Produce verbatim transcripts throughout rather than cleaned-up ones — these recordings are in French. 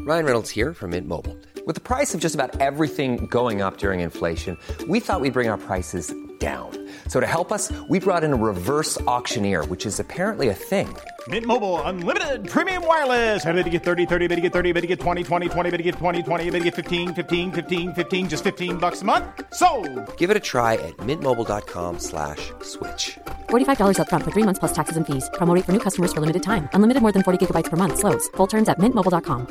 Ryan Reynolds here from Mint Mobile. With the price of just about everything going up during inflation, we thought we'd bring our prices down. So to help us, we brought in a reverse auctioneer, which is apparently a thing. Mint Mobile Unlimited Premium Wireless. How to get thirty, thirty, how to get thirty, how to get twenty, twenty, twenty, how to get twenty, twenty, how to get fifteen, fifteen, fifteen, fifteen, just fifteen bucks a month? Sold! Give it a try at mintmobile.com slash switch. forty-five dollars up front for three months plus taxes and fees. Promo rate for new customers for limited time. Unlimited more than forty gigabytes per month. Slows full terms at mint mobile dot com.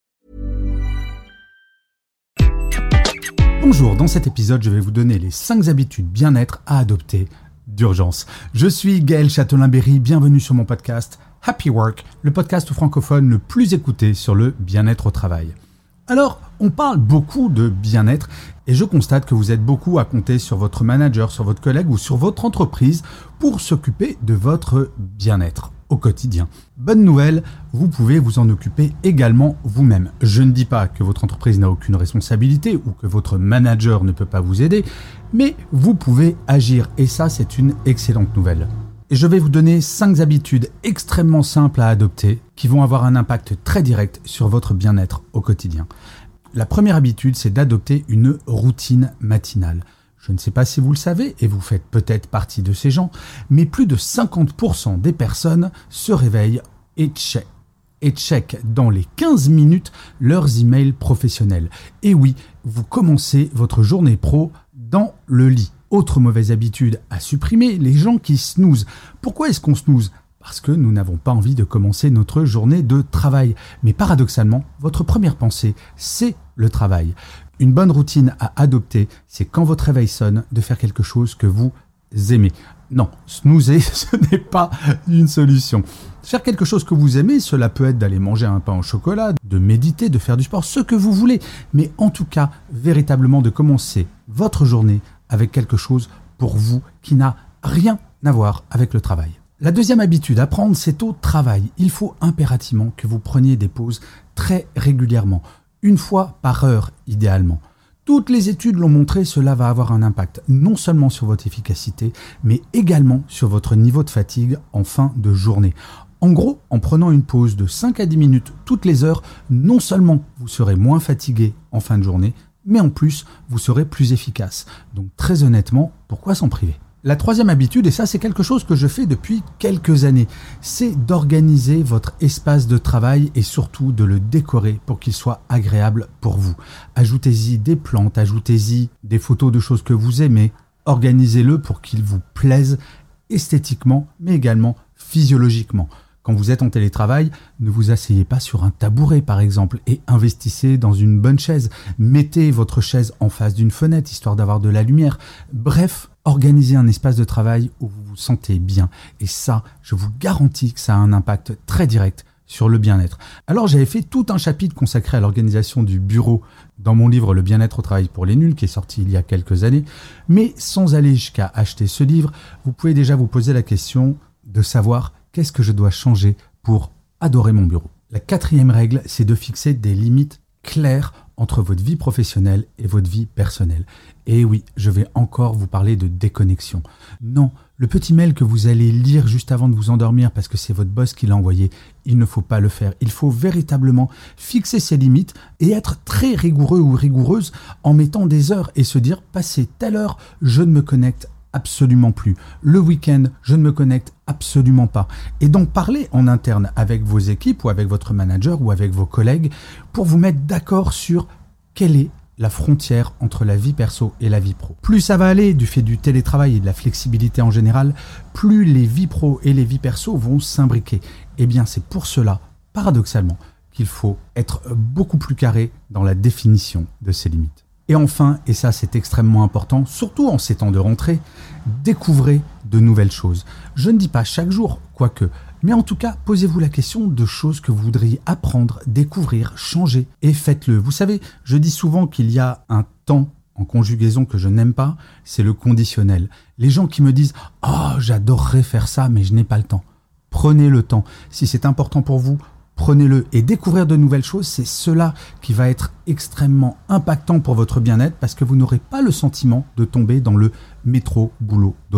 Bonjour, dans cet épisode, je vais vous donner les cinq habitudes bien-être à adopter d'urgence. Je suis Gaël Châtelain-Berry, bienvenue sur mon podcast Happy Work, le podcast francophone le plus écouté sur le bien-être au travail. Alors, on parle beaucoup de bien-être et je constate que vous êtes beaucoup à compter sur votre manager, sur votre collègue ou sur votre entreprise pour s'occuper de votre bien-être au quotidien. Bonne nouvelle, vous pouvez vous en occuper également vous-même. Je ne dis pas que votre entreprise n'a aucune responsabilité ou que votre manager ne peut pas vous aider, mais vous pouvez agir et ça, c'est une excellente nouvelle. Et je vais vous donner cinq habitudes extrêmement simples à adopter qui vont avoir un impact très direct sur votre bien-être au quotidien. La première habitude, c'est d'adopter une routine matinale. Je ne sais pas si vous le savez, et vous faites peut-être partie de ces gens, mais plus de cinquante pour cent des personnes se réveillent et check, et check dans les quinze minutes leurs emails professionnels. Et oui, vous commencez votre journée pro dans le lit. Autre mauvaise habitude à supprimer, les gens qui snoozent. Pourquoi est-ce qu'on snooze ? Parce que nous n'avons pas envie de commencer notre journée de travail. Mais paradoxalement, votre première pensée, c'est le travail. Une bonne routine à adopter, c'est quand votre réveil sonne, de faire quelque chose que vous aimez. Non, snoozer, ce n'est pas une solution. Faire quelque chose que vous aimez, cela peut être d'aller manger un pain au chocolat, de méditer, de faire du sport, ce que vous voulez. Mais en tout cas, véritablement de commencer votre journée avec quelque chose pour vous qui n'a rien à voir avec le travail. La deuxième habitude à prendre, c'est au travail. Il faut impérativement que vous preniez des pauses très régulièrement, une fois par heure idéalement. Toutes les études l'ont montré, cela va avoir un impact non seulement sur votre efficacité, mais également sur votre niveau de fatigue en fin de journée. En gros, en prenant une pause de cinq à dix minutes toutes les heures, non seulement vous serez moins fatigué en fin de journée, mais en plus, vous serez plus efficace. Donc très honnêtement, pourquoi s'en priver ? La troisième habitude, et ça c'est quelque chose que je fais depuis quelques années, c'est d'organiser votre espace de travail et surtout de le décorer pour qu'il soit agréable pour vous. Ajoutez-y des plantes, ajoutez-y des photos de choses que vous aimez, organisez-le pour qu'il vous plaise esthétiquement, mais également physiologiquement. Quand vous êtes en télétravail, ne vous asseyez pas sur un tabouret par exemple et investissez dans une bonne chaise. Mettez votre chaise en face d'une fenêtre histoire d'avoir de la lumière. Bref, organisez un espace de travail où vous vous sentez bien. Et ça, je vous garantis que ça a un impact très direct sur le bien-être. Alors j'avais fait tout un chapitre consacré à l'organisation du bureau dans mon livre Le bien-être au travail pour les nuls qui est sorti il y a quelques années. Mais sans aller jusqu'à acheter ce livre, vous pouvez déjà vous poser la question de savoir qu'est-ce que je dois changer pour adorer mon bureau. La quatrième règle, c'est de fixer des limites claires entre votre vie professionnelle et votre vie personnelle. Et oui, je vais encore vous parler de déconnexion. Non, le petit mail que vous allez lire juste avant de vous endormir parce que c'est votre boss qui l'a envoyé, il ne faut pas le faire. Il faut véritablement fixer ses limites et être très rigoureux ou rigoureuse en mettant des heures et se dire, passé telle heure, je ne me connecte absolument plus. Le week-end, je ne me connecte absolument pas. Et donc parler en interne avec vos équipes ou avec votre manager ou avec vos collègues pour vous mettre d'accord sur quelle est la frontière entre la vie perso et la vie pro. Plus ça va aller du fait du télétravail et de la flexibilité en général, plus les vies pro et les vies perso vont s'imbriquer. Eh bien, c'est pour cela, paradoxalement, qu'il faut être beaucoup plus carré dans la définition de ces limites. Et enfin, et ça c'est extrêmement important, surtout en ces temps de rentrée, découvrez de nouvelles choses. Je ne dis pas chaque jour, quoique, mais en tout cas, posez-vous la question de choses que vous voudriez apprendre, découvrir, changer, et faites-le. Vous savez, je dis souvent qu'il y a un temps en conjugaison que je n'aime pas, c'est le conditionnel. Les gens qui me disent « Oh, j'adorerais faire ça, mais je n'ai pas le temps ». Prenez le temps. Si c'est important pour vous, prenez-le. Et découvrir de nouvelles choses, c'est cela qui va être extrêmement impactant pour votre bien-être parce que vous n'aurez pas le sentiment de tomber dans le métro, boulot, dodo.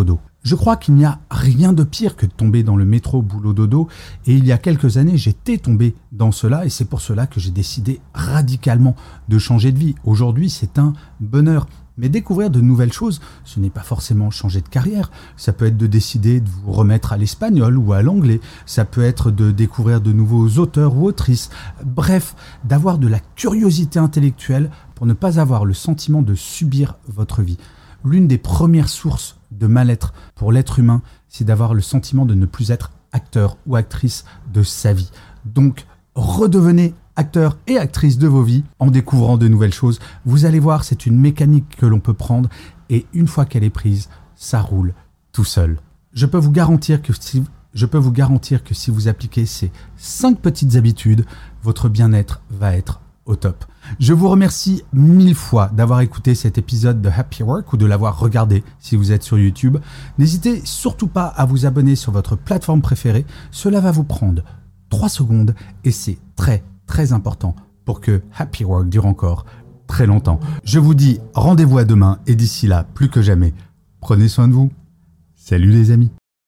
Je crois qu'il n'y a rien de pire que de tomber dans le métro boulot dodo et il y a quelques années, j'étais tombé dans cela et c'est pour cela que j'ai décidé radicalement de changer de vie. Aujourd'hui, c'est un bonheur. Mais découvrir de nouvelles choses, ce n'est pas forcément changer de carrière. Ça peut être de décider de vous remettre à l'espagnol ou à l'anglais. Ça peut être de découvrir de nouveaux auteurs ou autrices. Bref, d'avoir de la curiosité intellectuelle pour ne pas avoir le sentiment de subir votre vie. L'une des premières sources de mal-être pour l'être humain, c'est d'avoir le sentiment de ne plus être acteur ou actrice de sa vie. Donc, redevenez acteur et actrice de vos vies en découvrant de nouvelles choses. Vous allez voir, c'est une mécanique que l'on peut prendre et une fois qu'elle est prise, ça roule tout seul. Je peux vous garantir que si, je peux vous garantir que si vous appliquez ces cinq petites habitudes, votre bien-être va être au top. Je vous remercie mille fois d'avoir écouté cet épisode de Happy Work ou de l'avoir regardé si vous êtes sur YouTube. N'hésitez surtout pas à vous abonner sur votre plateforme préférée. Cela va vous prendre trois secondes et c'est très très important pour que Happy Work dure encore très longtemps. Je vous dis rendez-vous à demain et d'ici là, plus que jamais, prenez soin de vous. Salut les amis.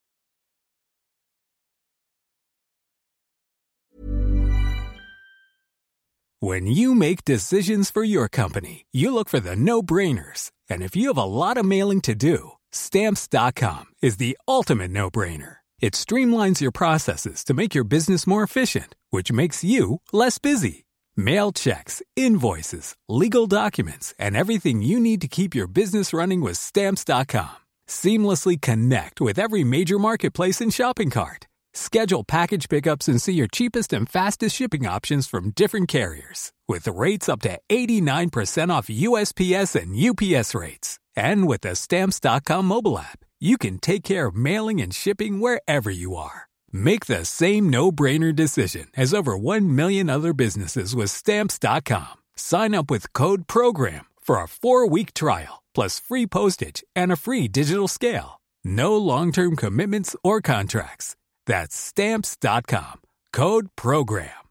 When you make decisions for your company, you look for the no-brainers. And if you have a lot of mailing to do, Stamps dot com is the ultimate no-brainer. It streamlines your processes to make your business more efficient, which makes you less busy. Mail checks, invoices, legal documents, and everything you need to keep your business running with Stamps dot com. Seamlessly connect with every major marketplace and shopping cart. Schedule package pickups and see your cheapest and fastest shipping options from different carriers. With rates up to eighty-nine percent off U S P S and U P S rates. And with the Stamps dot com mobile app, you can take care of mailing and shipping wherever you are. Make the same no-brainer decision as over one million other businesses with Stamps dot com. Sign up with code PROGRAM for a four-week trial, plus free postage and a free digital scale. No long-term commitments or contracts. That's Stamps dot com. Code PROGRAM.